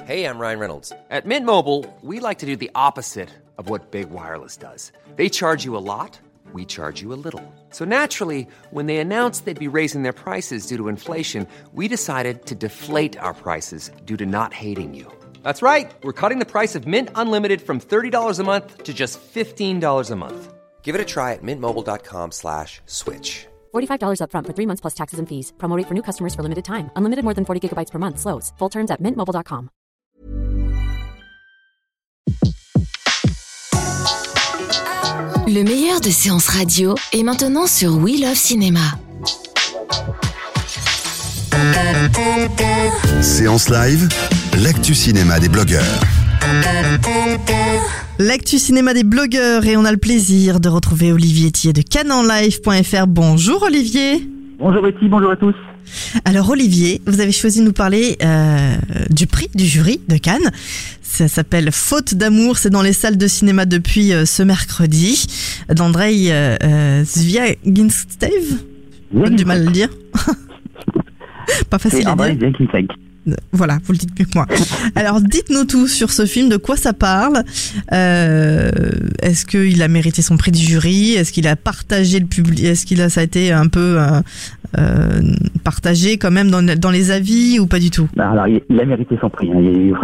Hey, I'm Ryan Reynolds. At Mint Mobile, we like to do the opposite of what Big Wireless does. They charge you a lot, we charge you a little. So naturally, when they announced they'd be raising their prices due to inflation, we decided to deflate our prices due to not hating you. That's right. We're cutting the price of Mint Unlimited from $30 a month to just $15 a month. Give it a try at mintmobile.com/switch. $45 up front for 3 months plus taxes and fees. Promo rate for new customers for limited time. Unlimited more than 40 gigabytes per month. Slows full terms at mintmobile.com. Le meilleur de séances radio est maintenant sur We Love Cinéma. Séance live, l'actu cinéma des blogueurs. L'actu cinéma des blogueurs et on a le plaisir de retrouver Olivier Thier de canenlive.fr. Bonjour Olivier. Bonjour Betty, bonjour à tous. Alors Olivier, vous avez choisi de nous parler du prix du jury de Cannes. Ça s'appelle Faute d'amour, c'est dans les salles de cinéma depuis ce mercredi. D'Andrei Zviagintsev, j'ai du mal à le dire. Pas facile à dire. Voilà, vous le dites mieux que moi. Alors, dites-nous tout sur ce film, de quoi ça parle. Est-ce qu'il a mérité son prix du jury? Est-ce qu'il a partagé le public? Est-ce qu'il a, ça a été un peu partagé quand même dans les avis ou pas du tout? Alors, il a mérité son prix. Hein.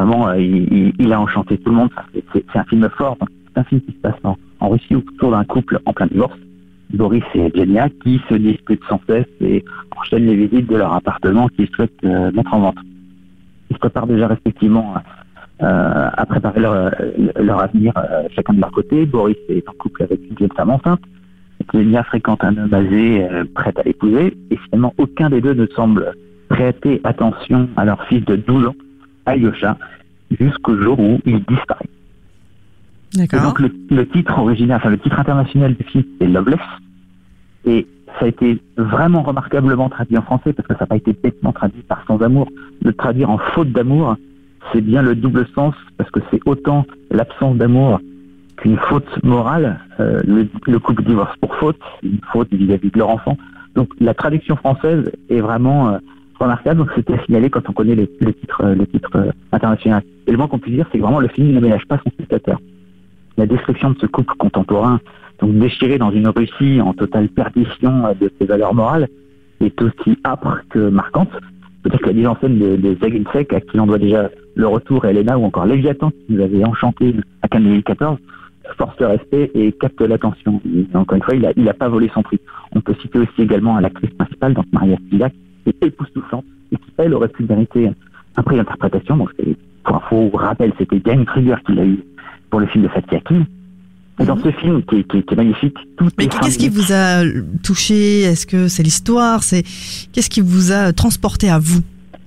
Il a enchanté tout le monde. C'est un film fort. C'est un film qui se passe en Russie autour d'un couple en plein divorce. Boris et Evgenia qui se disputent sans cesse et enchaînent les visites de leur appartement qu'ils souhaitent mettre en vente. Ils se préparent déjà respectivement à préparer leur avenir chacun de leur côté. Boris est en couple avec une jeune femme enceinte. Evgenia fréquente un homme âgé prêt à l'épouser. Et finalement, aucun des deux ne semble prêter attention à leur fils de 12 ans, Alyosha, jusqu'au jour où il disparaît. D'accord. Et donc le titre original, le titre international du film, c'est Loveless. Et ça a été vraiment remarquablement traduit en français parce que ça n'a pas été bêtement traduit par Sans amour. Le traduire en Faute d'amour, c'est bien le double sens parce que c'est autant l'absence d'amour qu'une faute morale. Le couple divorce pour faute, une faute vis-à-vis de leur enfant. Donc la traduction française est vraiment remarquable. Donc c'était à signaler quand on connaît le titre international. Et le moins qu'on puisse dire, c'est que vraiment le film ne ménage pas son spectateur. La description de ce couple contemporain, donc déchiré dans une Russie en totale perdition de ses valeurs morales, est aussi âpre que marquante. Peut-être que la mise en scène de Zviagintsev, à qui on doit déjà Le Retour et Elena, ou encore Léviathan, qui nous avait enchanté à Cannes 2014, force le respect et capte l'attention. Et encore une fois, il a pas volé son prix. On peut citer aussi également l'actrice principale, donc Maria Spivak, qui est époustouflante et qui, elle, aurait pu mériter un prix d'interprétation. Donc, pour info, rappel, c'était Diane Kruger qui l'a eu pour le film de Fatih Akin. Et dans ce film qui est magnifique, Mais qu'est-ce qui vous a touché? Est-ce que c'est l'histoire? Qu'est-ce qui vous a transporté à vous?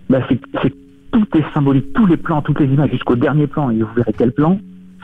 Tout est symbolique, tous les plans, toutes les images, jusqu'au dernier plan, et vous verrez quel plan.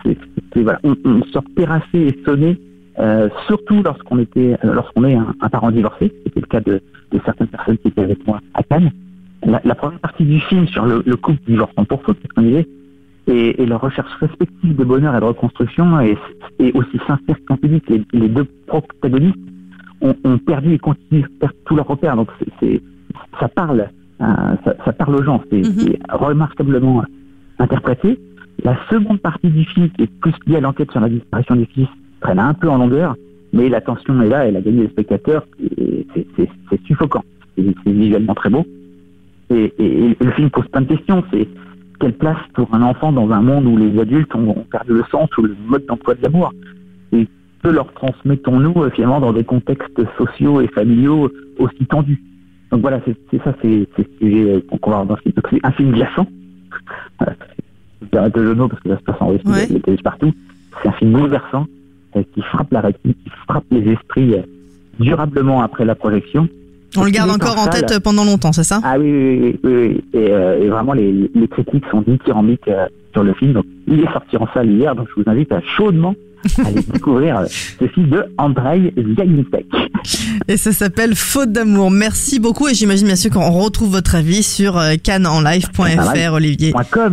On sort terrassé et sonné, surtout lorsqu'on est un parent divorcé. C'était le cas de certaines personnes qui étaient avec moi à Cannes. La première partie du film sur le couple divorçant pour faute, c'est ce qu'on disait, et leur recherche respective de bonheur et de reconstruction est aussi sincère qu'impudique. Les deux protagonistes ont perdu et continuent de perdre tous leurs repères. Donc ça parle aux gens. C'est remarquablement interprété. La seconde partie du film, qui est plus liée à l'enquête sur la disparition du fils, traîne un peu en longueur, mais la tension est là, elle a gagné les spectateurs. Et c'est suffocant. C'est visuellement très beau. Et le film pose plein de questions. C'est quelle place pour un enfant dans un monde où les adultes ont perdu le sens ou le mode d'emploi de l'amour? Et que leur transmettons-nous finalement dans des contextes sociaux et familiaux aussi tendus? Donc voilà, c'est ce sujet qu'on va avoir dans ce film. C'est un film glaçant. J'arrête le jeu de mots parce que ça se passe en Russie, il y a des partout. C'est un film bouleversant qui frappe la rétine, qui frappe les esprits durablement après la projection. On le garde encore en tête pendant longtemps, c'est ça? Ah oui. Et vraiment, les critiques sont dithyrambiques sur le film. Donc, il est sorti en salle hier, donc je vous invite à chaudement aller découvrir ce film de Andrei Zviagintsev. Et ça s'appelle Faute d'amour. Merci beaucoup et j'imagine bien sûr qu'on retrouve votre avis sur canenlive.fr, Olivier.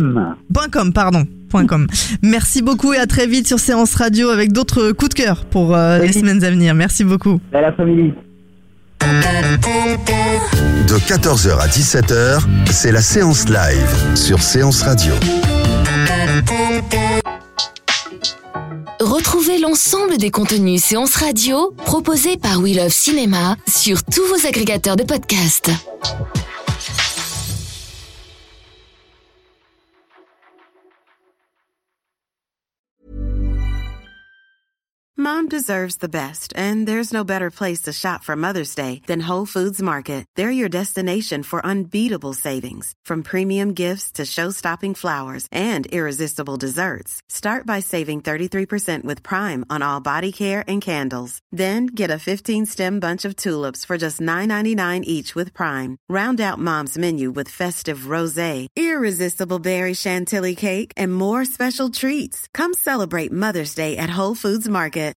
.com. Merci beaucoup et à très vite sur Séance Radio avec d'autres coups de cœur pour les semaines à venir. Merci beaucoup. Belle après-midi. De 14h à 17h, c'est la séance live sur Séance Radio. Retrouvez l'ensemble des contenus Séance Radio proposés par We Love Cinéma sur tous vos agrégateurs de podcasts. Mom deserves the best, and there's no better place to shop for Mother's Day than Whole Foods Market. They're your destination for unbeatable savings, from premium gifts to show-stopping flowers and irresistible desserts. Start by saving 33% with Prime on all body care and candles. Then get a 15-stem bunch of tulips for just $9.99 each with Prime. Round out Mom's menu with festive rosé, irresistible berry chantilly cake, and more special treats. Come celebrate Mother's Day at Whole Foods Market.